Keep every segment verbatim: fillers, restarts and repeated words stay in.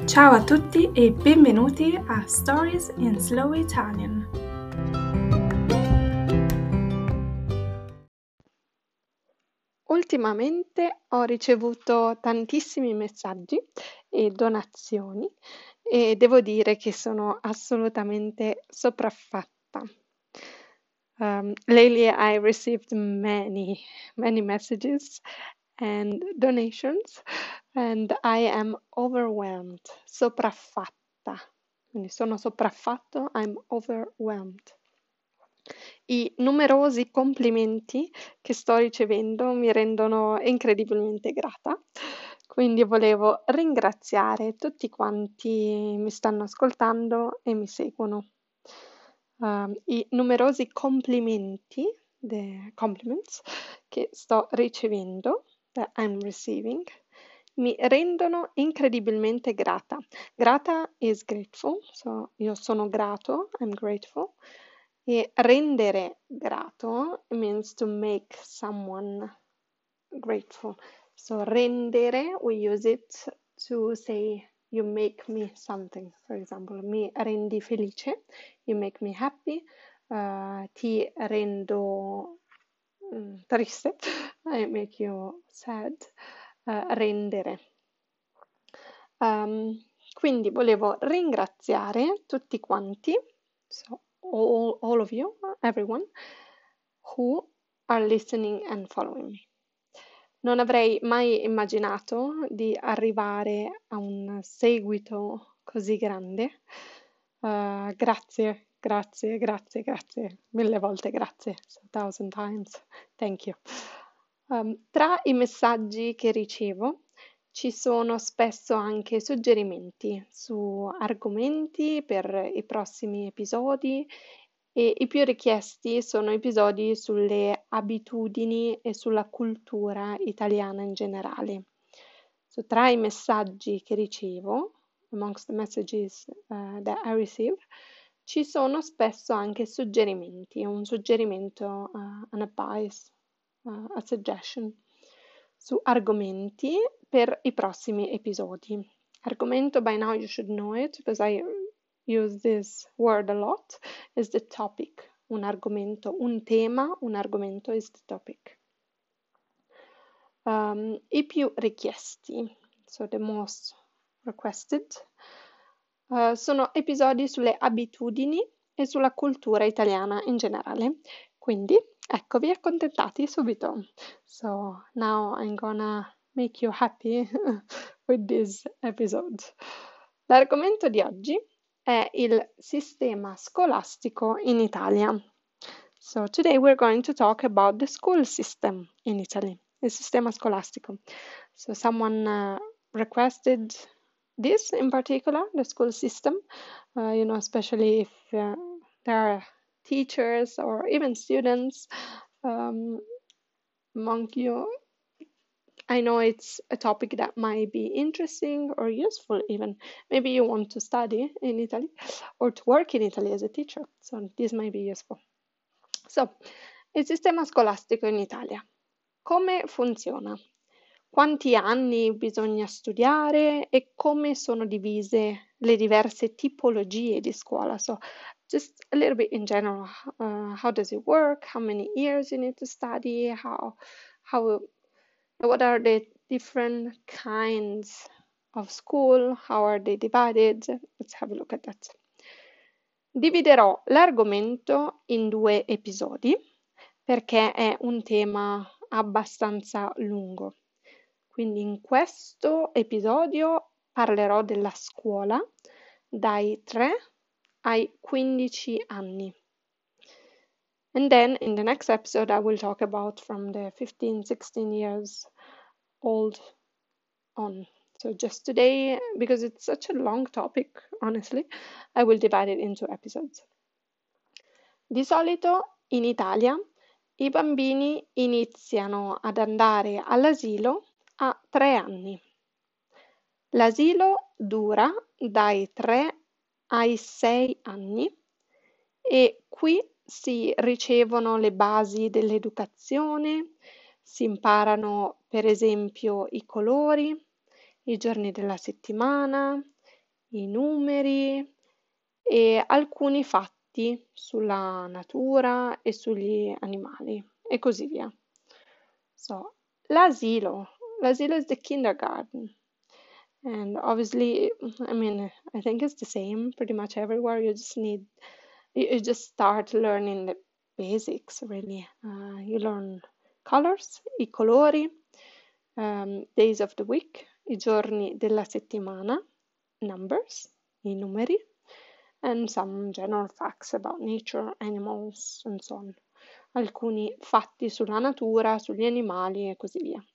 Ciao a tutti e benvenuti a Stories in Slow Italian. Ultimamente ho ricevuto tantissimi messaggi e donazioni e devo dire che sono assolutamente sopraffatta. Um, lately I received many, many messages and donations and I am overwhelmed, sopraffatta. Quindi sono sopraffatto, I'm overwhelmed. I numerosi complimenti che sto ricevendo mi rendono incredibilmente grata, quindi volevo ringraziare tutti quanti mi stanno ascoltando e mi seguono. Um, I numerosi complimenti, the compliments, che sto ricevendo, that I'm receiving, mi rendono incredibilmente grata. Grata is grateful, so io sono grato, I'm grateful. E rendere grato means to make someone grateful. So rendere, we use it to say you make me something. For example, mi rendi felice, you make me happy, uh, ti rendo mm, triste, I make you sad, uh, rendere. Um, quindi volevo ringraziare tutti quanti, so all, all of you, everyone, who are listening and following me. Non avrei mai immaginato di arrivare a un seguito così grande. Uh, grazie, grazie, grazie, grazie, mille volte grazie, so thousand times, thank you. Um, tra i messaggi che ricevo ci sono spesso anche suggerimenti su argomenti per i prossimi episodi e i più richiesti sono episodi sulle abitudini e sulla cultura italiana in generale. So, tra i messaggi che ricevo, amongst the messages uh, that I receive, ci sono spesso anche suggerimenti, un suggerimento, uh, an advice, uh, a suggestion su argomenti per i prossimi episodi. Argomento, by now you should know it because I use this word a lot, is the topic. Un argomento, un tema, un argomento is the topic. Um, I più richiesti, so the most requested, uh, sono episodi sulle abitudini e sulla cultura italiana in generale. Quindi, eccovi accontentati subito. So, now I'm gonna make you happy with this episode. L'argomento di oggi è il sistema scolastico in Italia. So, today we're going to talk about the school system in Italy, il sistema scolastico. So, someone uh, requested this in particular, the school system, uh, you know, especially if uh, there are teachers or even students um, among you. I know it's a topic that might be interesting or useful even. Maybe you want to study in Italy or to work in Italy as a teacher, so this might be useful. So, il sistema scolastico in Italia. Come funziona? Quanti anni bisogna studiare e come sono divise le diverse tipologie di scuola? So, just a little bit in general, uh, how does it work? How many years you need to study? How, how, what are the different kinds of school? How are they divided? Let's have a look at that. Dividerò l'argomento in due episodi perché è un tema abbastanza lungo. Quindi in questo episodio parlerò della scuola dai tre ai quindici anni. And then in the next episode I will talk about from the fifteen sixteen years old on. So just today, because it's such a long topic, honestly, I will divide it into episodes. Di solito in Italia i bambini iniziano ad andare all'asilo a tre anni. L'asilo dura dai tre ai sei anni e qui si ricevono le basi dell'educazione, si imparano per esempio i colori, i giorni della settimana, i numeri e alcuni fatti sulla natura e sugli animali e così via. So, l'asilo. L'asilo is the kindergarten. And obviously, I mean, I think it's the same pretty much everywhere. You just need, you, you just start learning the basics, really. Uh, you learn colors, i colori, um, days of the week, i giorni della settimana, numbers, i numeri, and some general facts about nature, animals, and so on. Alcuni fatti sulla natura, sugli animali e così via.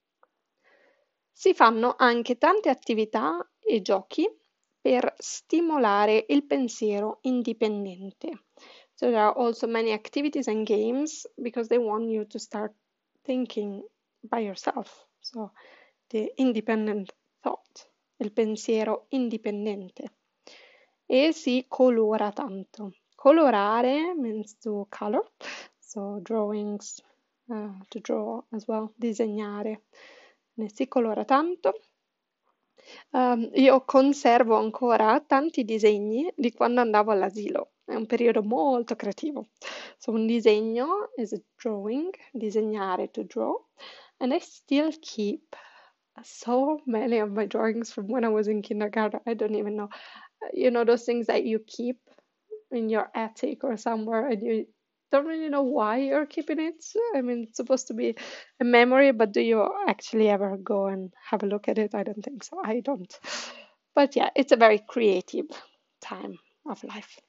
Si fanno anche tante attività e giochi per stimolare il pensiero indipendente. So there are also many activities and games because they want you to start thinking by yourself. So the independent thought, il pensiero indipendente. E si colora tanto. Colorare means to color, so drawings, uh, to draw as well, disegnare. Ne si colora tanto. Um, io conservo ancora tanti disegni di quando andavo all'asilo. È un periodo molto creativo. So un disegno is a drawing, disegnare, to draw, and I still keep so many of my drawings from when I was in kindergarten. I don't even know. You know, those things that you keep in your attic or somewhere and you don't really know why you're keeping it. I mean, it's supposed to be a memory, but do you actually ever go and have a look at it? I don't think so. I don't. But yeah, it's a very creative time of life.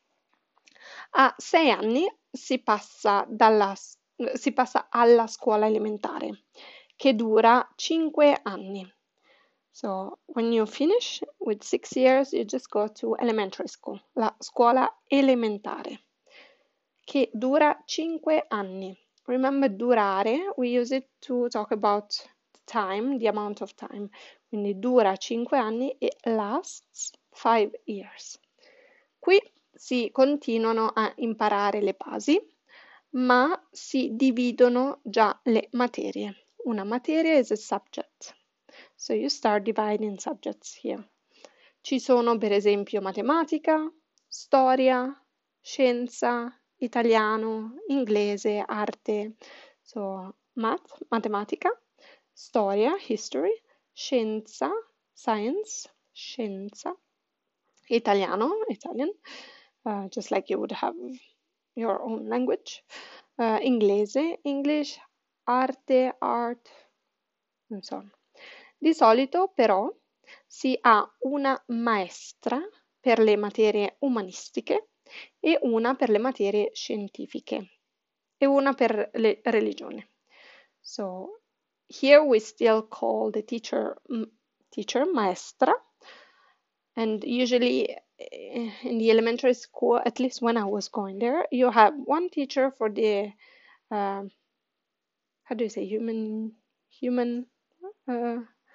A sei anni si passa, dalla, si passa alla scuola elementare, che dura cinque anni. So when you finish with six years, you just go to elementary school, la scuola elementare, che dura cinque anni. Remember, durare, we use it to talk about time, the amount of time. Quindi dura cinque anni e lasts five years. Qui si continuano a imparare le basi, ma si dividono già le materie. Una materia is a subject. So you start dividing subjects here. Ci sono per esempio matematica, storia, scienza, italiano, inglese, arte. So math, matematica, storia, history, scienza, science, scienza, italiano, Italian, uh, just like you would have your own language, uh, inglese, English, arte, art, and so on. Di solito però si ha una maestra per le materie umanistiche e una per le materie scientifiche e una per le religioni. So here we still call the teacher teacher maestra, and usually in the elementary school, at least when I was going there, you have one teacher for the uh, how do you say human human uh,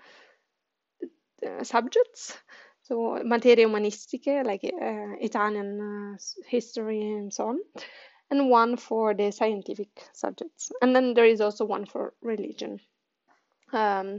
Uh, subjects, so materie umanistiche like uh, Italian, uh, history and so on, and one for the scientific subjects, and then there is also one for religion. Um,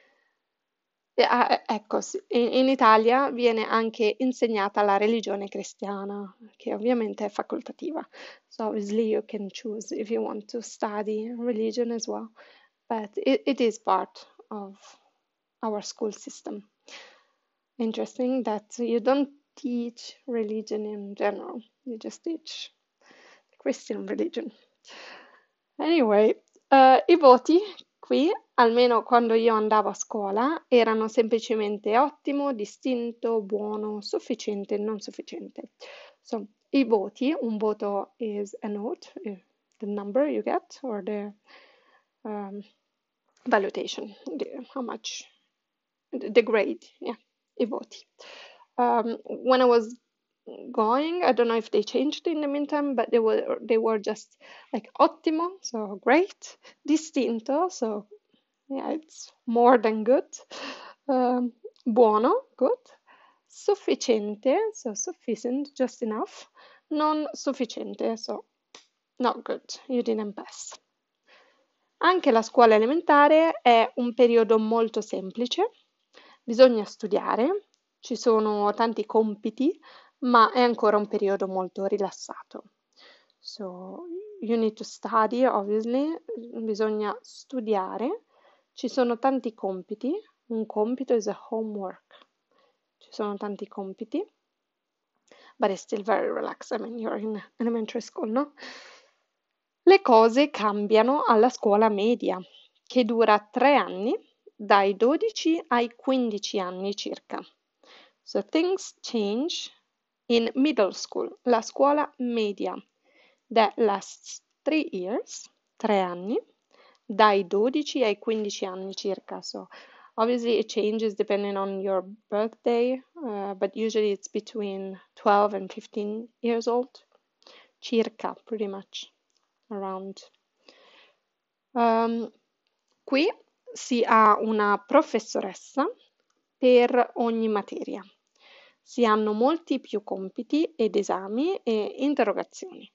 eh, ecco, in, in Italia viene anche insegnata la religione cristiana, che ovviamente è facoltativa, so obviously you can choose if you want to study religion as well, but it, it is part of our school system. Interesting that you don't teach religion in general, you just teach Christian religion. Anyway, uh, i voti qui, almeno quando io andavo a scuola, erano semplicemente ottimo, distinto, buono, sufficiente, non sufficiente. So, i voti, un voto is a note, the number you get, or the um, valuation, the, how much, the grade, yeah, i voti. Um, when I was going, I don't know if they changed in the meantime, but they were they were just like ottimo, so great, distinto, so yeah, it's more than good, um, buono, good, sufficiente, so sufficient, just enough, non sufficiente, so not good, you didn't pass. Anche la scuola elementare è un periodo molto semplice, bisogna studiare, ci sono tanti compiti, ma è ancora un periodo molto rilassato. So, you need to study, obviously, bisogna studiare, ci sono tanti compiti, un compito is a homework, ci sono tanti compiti, but it's still very relaxed, I mean, you're in elementary school, no? Le cose cambiano alla scuola media, che dura tre anni, dai dodici ai quindici anni circa. So things change in middle school, la scuola media, that lasts three years, tre anni, dai dodici ai quindici anni circa. So obviously it changes depending on your birthday, uh, but usually it's between twelve and fifteen years old, circa, pretty much, around. Um, qui si ha una professoressa per ogni materia. Si hanno molti più compiti ed esami e interrogazioni.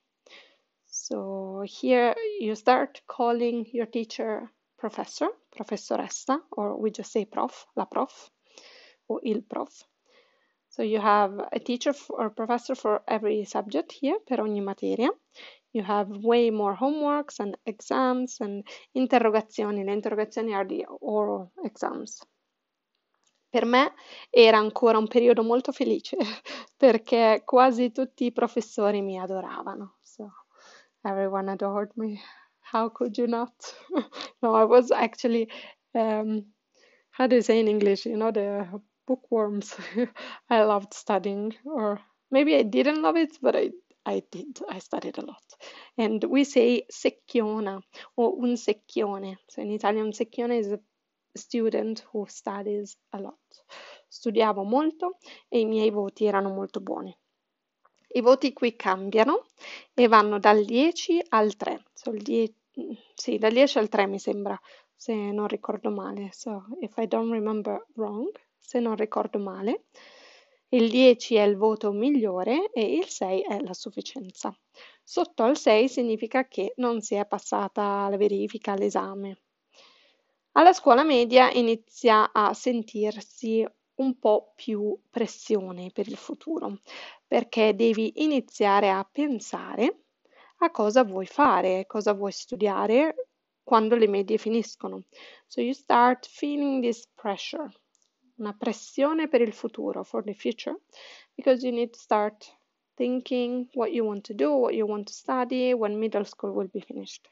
So here you start calling your teacher professor, professoressa, or we just say prof, la prof, or il prof. So you have a teacher or professor for every subject here, per ogni materia. You have way more homeworks and exams and interrogazioni. Le interrogazioni are the oral exams. Per me era ancora un periodo molto felice perché quasi tutti i professori mi adoravano. So everyone adored me. How could you not? No, I was actually, um, how do you say in English? You know, the bookworms. I loved studying, or maybe I didn't love it, but I I did. I studied a lot. And we say secchiona or un secchione. So in Italian, un secchione is a student who studies a lot. Studiavo molto e i miei voti erano molto buoni. I voti qui cambiano e vanno dal dieci al tre. So il die- sì, dal dieci al tre mi sembra, se non ricordo male. So if I don't remember wrong, se non ricordo male. Il dieci è il voto migliore e il sei è la sufficienza. Sotto al sei significa che non si è passata la verifica, l'esame. Alla scuola media inizia a sentirsi un po' più pressione per il futuro, perché devi iniziare a pensare a cosa vuoi fare, cosa vuoi studiare quando le medie finiscono. So you start feeling this pressure, una pressione per il futuro, for the future, because you need to start thinking what you want to do, what you want to study when middle school will be finished.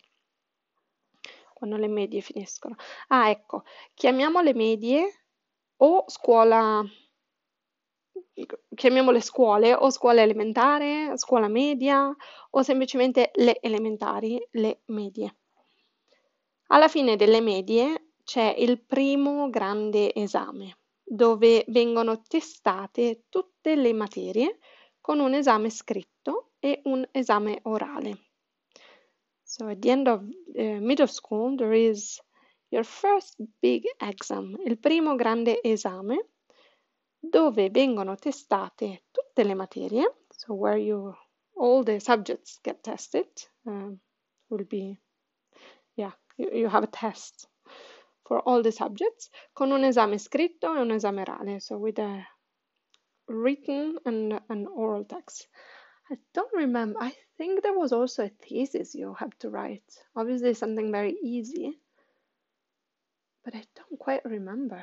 Quando le medie finiscono. Ah, ecco, chiamiamo le medie o scuola, chiamiamole scuole o scuola elementare, scuola media o semplicemente le elementari, le medie. Alla fine delle medie c'è il primo grande esame dove vengono testate tutte le materie con un esame scritto e un esame orale. So at the end of uh, middle school there is your first big exam, il primo grande esame dove vengono testate tutte le materie, so where you all the subjects get tested, uh, will be, yeah, you, you have a test for all the subjects, con un esame scritto e un esame orale, so with a written and an oral text. I don't remember. I think there was also a thesis you have to write. Obviously, something very easy, but I don't quite remember.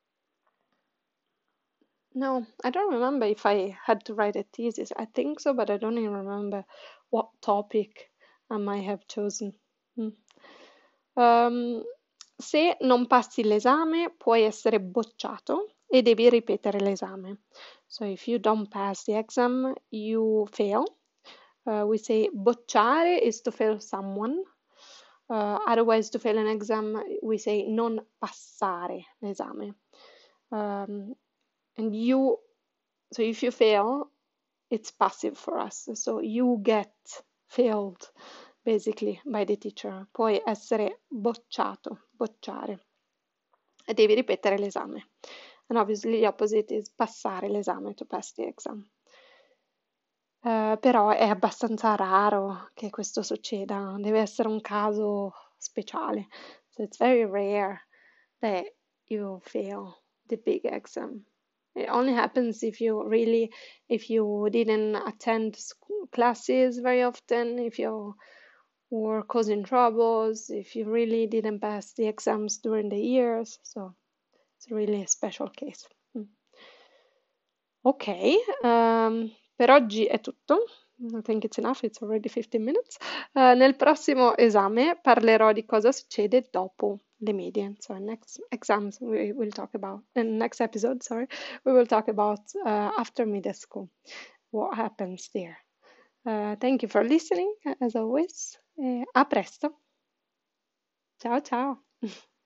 No, I don't remember if I had to write a thesis. I think so, but I don't even remember what topic I might have chosen. Mm. Um, se non passi l'esame, puoi essere bocciato e devi ripetere l'esame. So if you don't pass the exam, you fail. Uh, we say bocciare is to fail someone. Uh, otherwise, to fail an exam, we say non passare l'esame. Um, and you, so if you fail, it's passive for us. So you get failed, basically, by the teacher. Puoi essere bocciato, bocciare. E devi ripetere l'esame. And obviously the opposite is passare l'esame, to pass the exam. Uh, però è abbastanza raro che questo succeda, deve essere un caso speciale. So it's very rare that you fail the big exam. It only happens if you really, if you didn't attend school classes very often, if you were causing troubles, if you really didn't pass the exams during the years. So it's really a special case. Mm. Ok, um, per oggi è tutto. I think it's enough, it's already fifteen minutes. Uh, nel prossimo esame parlerò di cosa succede dopo le medie. So next exams we will talk about, in next episode, sorry, we will talk about uh, after middle school, what happens there. Uh, thank you for listening, as always. E a presto. Ciao ciao.